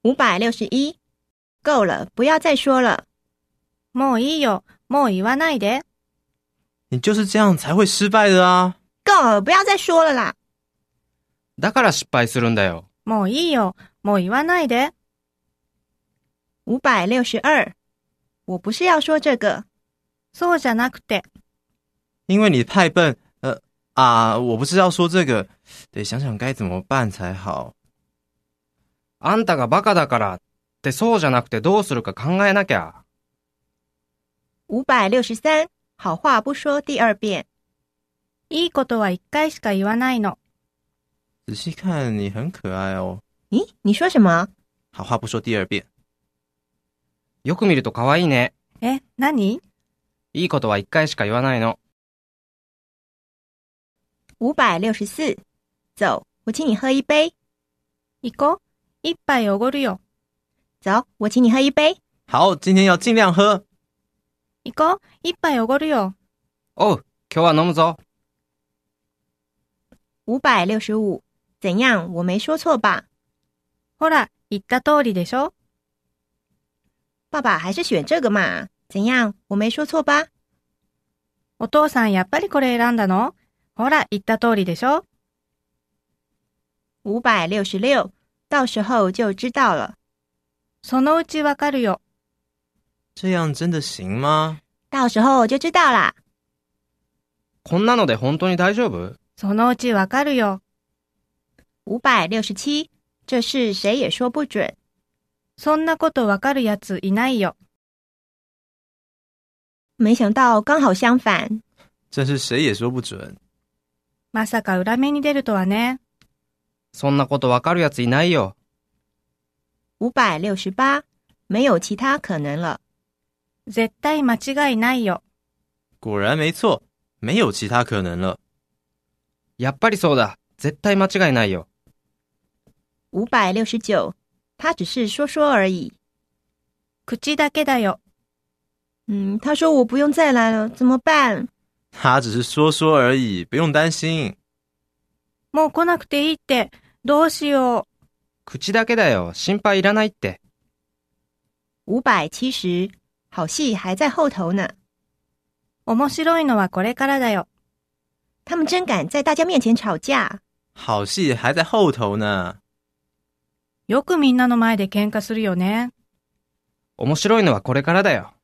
561，够了，不要再说了。 もういいよ、もう言わないで。 你就是这样才会失败的啊！ 够了，不要再说了啦。 だから失敗するんだよ。 もういいよ、もう言わないで。 562，我不是要说这个。 そうじゃなくて。 因为你太笨，我不是要说这个，得想想该怎么办才好。 あんたがバカだからってそうじゃなくてどうするか考えなきゃ。 563，好话不说第二遍。 いいことは一回しか言わないの。 仔细看，你很可爱哦。 咦，你说什么？ 好话不说第二遍。 よく見ると可愛いね。 え、何？ いいことは一回しか言わないの。 564，走，我请你喝一杯。 行こう。一杯おごるよ。 走，我请你喝一杯。 好，今天要尽量喝。 行こう。一杯おごるよ。 おう、今日は飲むぞ。 565，怎样？我没说错吧？ ほら、言った通りでしょ。 爸爸还是选这个嘛？怎样？我没说错吧？ お父さんやっぱりこれ選んだの？ほら、言った通りでしょ。 566，到时候就知道了。 そのうちわかるよ。 这样真的行吗？ 到时候就知道啦。 こんなので本当に大丈夫？ そのうちわかるよ。 567，这事谁也说不准。 そんなことわかるやついないよ。 没想到刚好相反。 真是谁也说不准。 まさか裏目に出るとはね。 そんなことわかるやついないよ。 568，没有其他可能了。 絶対間違いないよ。 果然没错，没有其他可能了。 やっぱりそうだ。絶対間違いないよ。 569，他只是说说而已。 口だけだよ。 他说我不用再来了，怎么办？ 他只是说说而已，不用担心。 もう来なくていいって、どうしよう。 口だけだよ。心配いらないって。 570，好戏还在后头呢。 面白いのはこれからだよ。 他们真敢在大家面前吵架。 好戏还在后头呢。 よくみんなの前で喧嘩するよね。 面白いのはこれからだよ。